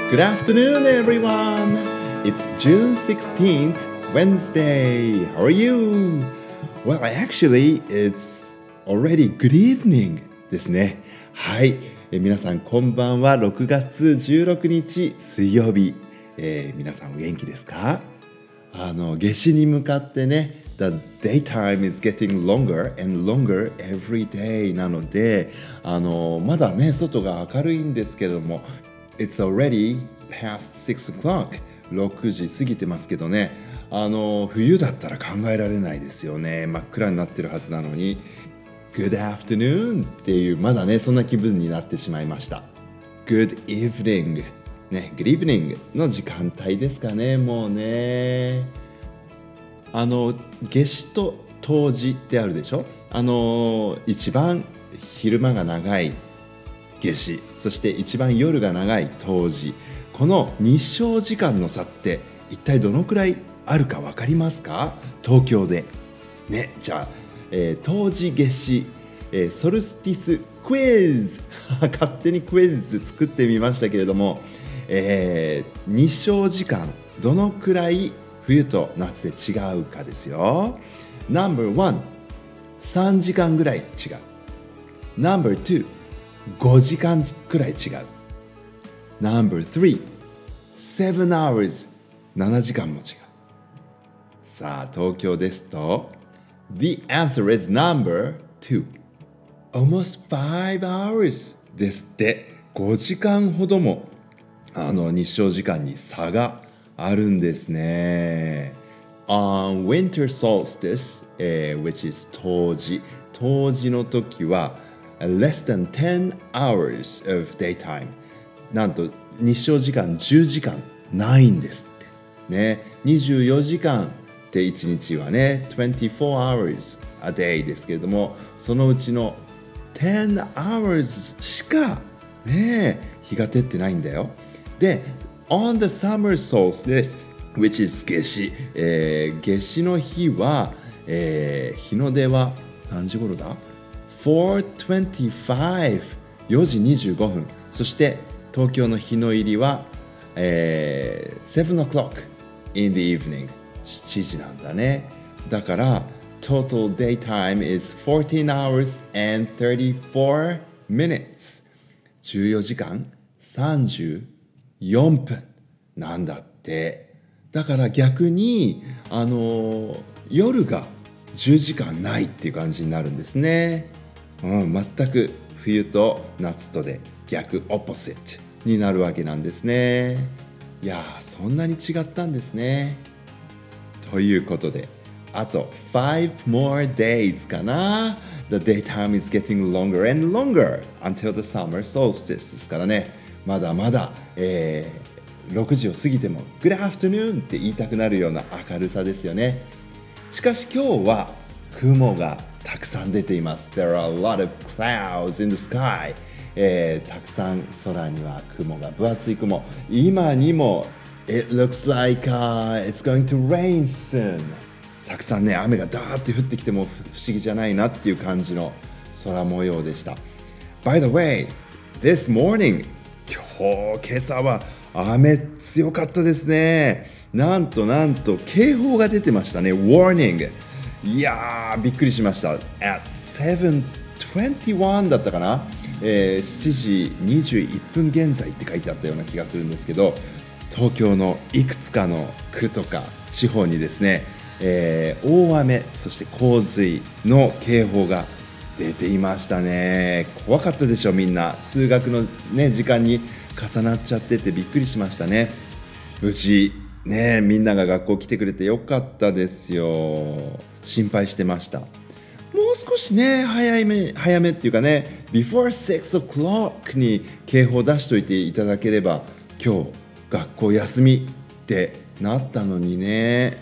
Good afternoon, everyone. It's June 16th, Wednesday. How are you? Well, actually, it's already good evening ですね。はい。皆さん、こんばんは。6月16日水曜日。皆さん、お元気ですか？夏至に向かってね、The daytime is getting longer and longer every day なので、まだね、外が明るいんですけれども、It's already past 6 o'clock 6時過ぎてますけどね、冬だったら考えられないですよね。真っ暗になってるはずなのに Good afternoon っていうまだねそんな気分になってしまいました。 Good evening ね、Good evening の時間帯ですかね。もうね夏至と冬至ってあるでしょ。一番昼間が長い夏至、そして一番夜が長い冬至、この日照時間の差って一体どのくらいあるか分かりますか？東京でね。じゃあ、冬至夏至、ソルスティスクイズ勝手にクイズ作ってみましたけれども、日照時間どのくらい冬と夏で違うかですよ。 No.1 3時間ぐらい違う。 No.2 5時間くらい違う。 No.3 7 hours 7時間も違う。さあ東京ですと The answer is No.2 almost 5 hours ですって。5時間ほども日照時間に差があるんですね。On winter solstice、which is 冬至の時はless than 10 hours of daytime なんと日照時間10時間ないんですってね。24時間って1日はね24 hours a day ですけれども、そのうちの10 hours しかね日が照ってないんだよ。で On the summer solstice which is 夏至、夏至の日は、日の出は何時頃だ4:25 4時25分。そして東京の日の入りは、7 o'clock in the evening 7時なんだね。だから total daytime is 14 hours and 34 minutes 14時間34分なんだって。だから逆に夜が10時間ないっていう感じになるんですね。全く冬と夏とで逆オポジットになるわけなんですね。いやー、そんなに違ったんですね。ということであと5 more days かな。 The daytime is getting longer and longer until the summer solstice ですからね。まだまだ、6時を過ぎても Good afternoon って言いたくなるような明るさですよね。しかし今日は雲がたくさん出ています。 There are a lot of clouds in the sky、たくさん空には雲が、分厚い雲。今にも It looks like、it's going to rain soon。 たくさんね雨がダーって降ってきても不思議じゃないなっていう感じの空模様でした。 By the way, this morning 今朝は雨強かったですね。なんと警報が出てましたね。 Warning。 いやーびっくりしました。 At 7:21 だったかな、7時21分現在って書いてあったような気がするんですけど、東京のいくつかの区とか地方にですね、大雨そして洪水の警報が出ていましたね。怖かったでしょみんな。通学の、ね、時間に重なっちゃっててびっくりしましたね。無事ねみんなが学校来てくれてよかったですよ。心配してました。もう少しね早めっていうかね Before 6 o'clock に警報出しといていただければ今日学校休みってなったのにね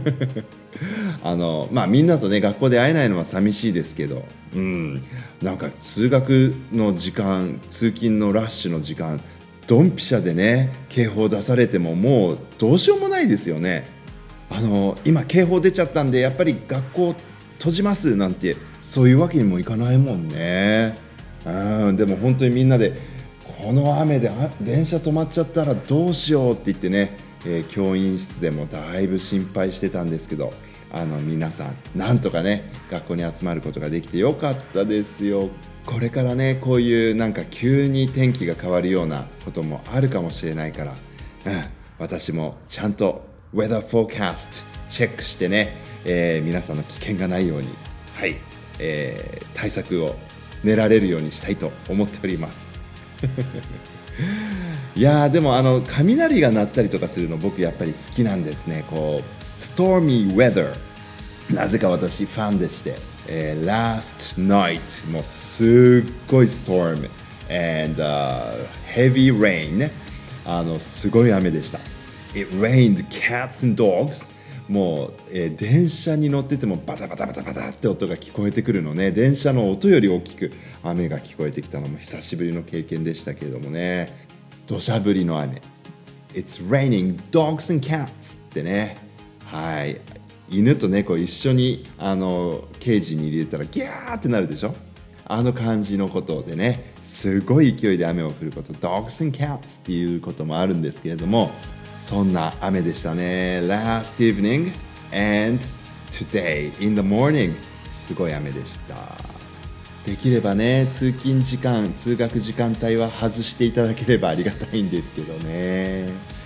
みんなとね学校で会えないのは寂しいですけど、なんか通学の時間通勤のラッシュの時間ドンピシャでね警報出されてももうどうしようもないですよね。今警報出ちゃったんでやっぱり学校閉じますなんてそういうわけにもいかないもんね。でも本当にみんなでこの雨で電車止まっちゃったらどうしようって言ってね、教員室でもだいぶ心配してたんですけど、皆さんなんとかね学校に集まることができてよかったですよ。これからねこういうなんか急に天気が変わるようなこともあるかもしれないから、私もちゃんと Weather Forecast チェックしてね、皆さんの危険がないように、はい、対策を練られるようにしたいと思っておりますいやーでも雷が鳴ったりとかするの僕やっぱり好きなんですね。こうストーミーウェザー、なぜか私ファンでして、Last night もうすっごいストーム and、heavy rain、すごい雨でした。 It rained cats and dogs。もう、電車に乗っててもバタバタバタバタって音が聞こえてくるのね。電車の音より大きく雨が聞こえてきたのも久しぶりの経験でしたけれどもね。土砂降りの雨 It's raining dogs and cats ってね、はい、犬と猫一緒にケージに入れたらギャーってなるでしょ。感じのことでね、すごい勢いで雨を降ること Dogs and cats っていうこともあるんですけれども、そんな雨でしたね。 Last evening and today in the morning すごい雨でした。できればね通勤時間通学時間帯は外していただければありがたいんですけどね。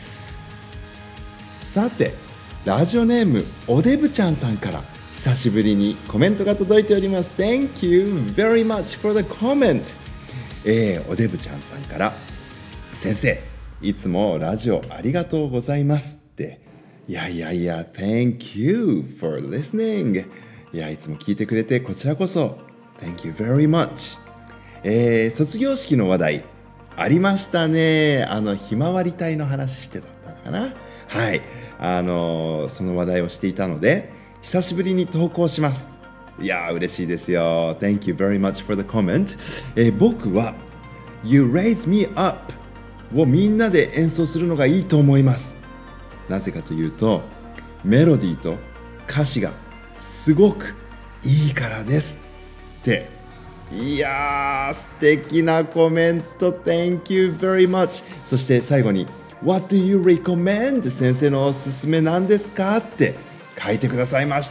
さてラジオネームおでぶちゃんさんから久しぶりにコメントが届いております。 Thank you very much for the comment。おでぶちゃんさんから、先生いつもラジオありがとうございますって。いや Thank you for listening。 いやいつも聞いてくれてこちらこそ Thank you very much。卒業式の話題ありましたね。ひまわり隊の話してだったのかな。はい、その話題をしていたので久しぶりに投稿します。いや嬉しいですよ。 Thank you very much for the comment。僕は You Raise Me Upをみんなで演奏するのがいいと思います。なぜかというとメロディーと歌詞がすごくいいからですって。いやー素敵なコメント Thank you very much。 そして最後に What do you recommend？ 先生のおすすめなんですかって書いてくださいました。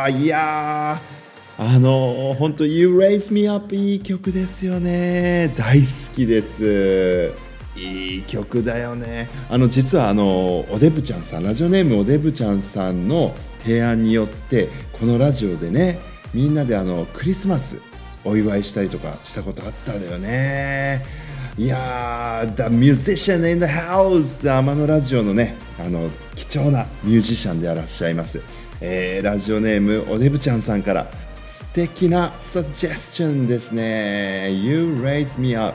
いやー本当 You Raise Me Up いい曲ですよね。大好きです。いい曲だよね。実はおでぶちゃんさん、ラジオネームおでぶちゃんさんの提案によってこのラジオでねみんなでクリスマスお祝いしたりとかしたことあったんだよね。いやー The musician in the house、 天野ラジオのね貴重なミュージシャンでいらっしゃいます、ラジオネームおでぶちゃんさんから素敵なサジェスチョンですね。 You raise me up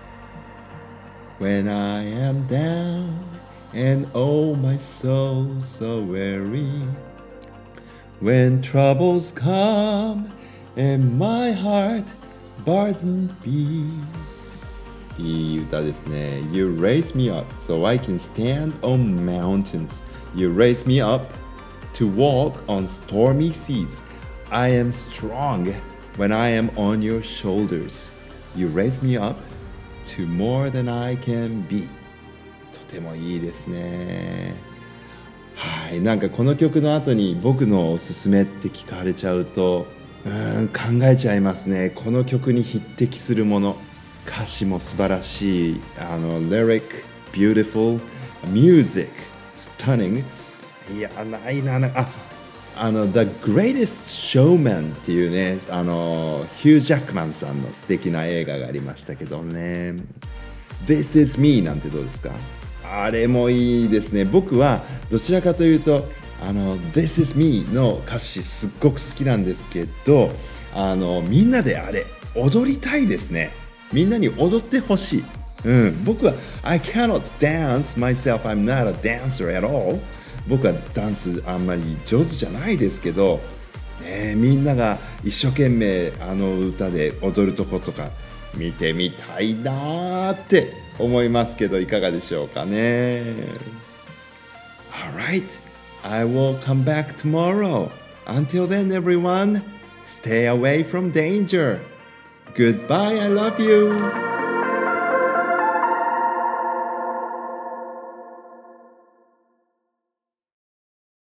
When I am down and oh my soul so weary, when troubles come and my heart burdened be。 いい歌ですね。 You raise me up so I can stand on mountains. You raise me up to walk on stormy seas. I am strong when I am on your shoulders. You raise me up to more than I can be。 とてもいいですね。はい、なんかこの曲の後に僕のおすすめって聞かれちゃうと考えちゃいますね。この曲に匹敵するもの、歌詞も素晴らしい、lyric beautiful music stunning。 いやないなThe Greatest Showman っていうねヒュー・ジャックマンさんの素敵な映画がありましたけどね。 This is me なんてどうですか。あれもいいですね。僕はどちらかというとThis is me の歌詞すっごく好きなんですけどみんなであれ踊りたいですね。みんなに踊ってほしい、僕は I cannot dance myself. I'm not a dancer at all。僕はダンスあんまり上手じゃないですけど、みんなが一生懸命歌で踊るとことか見てみたいなって思いますけどいかがでしょうかね。 Alright, I will come back tomorrow. Until then everyone, stay away from danger. Goodbye, I love you.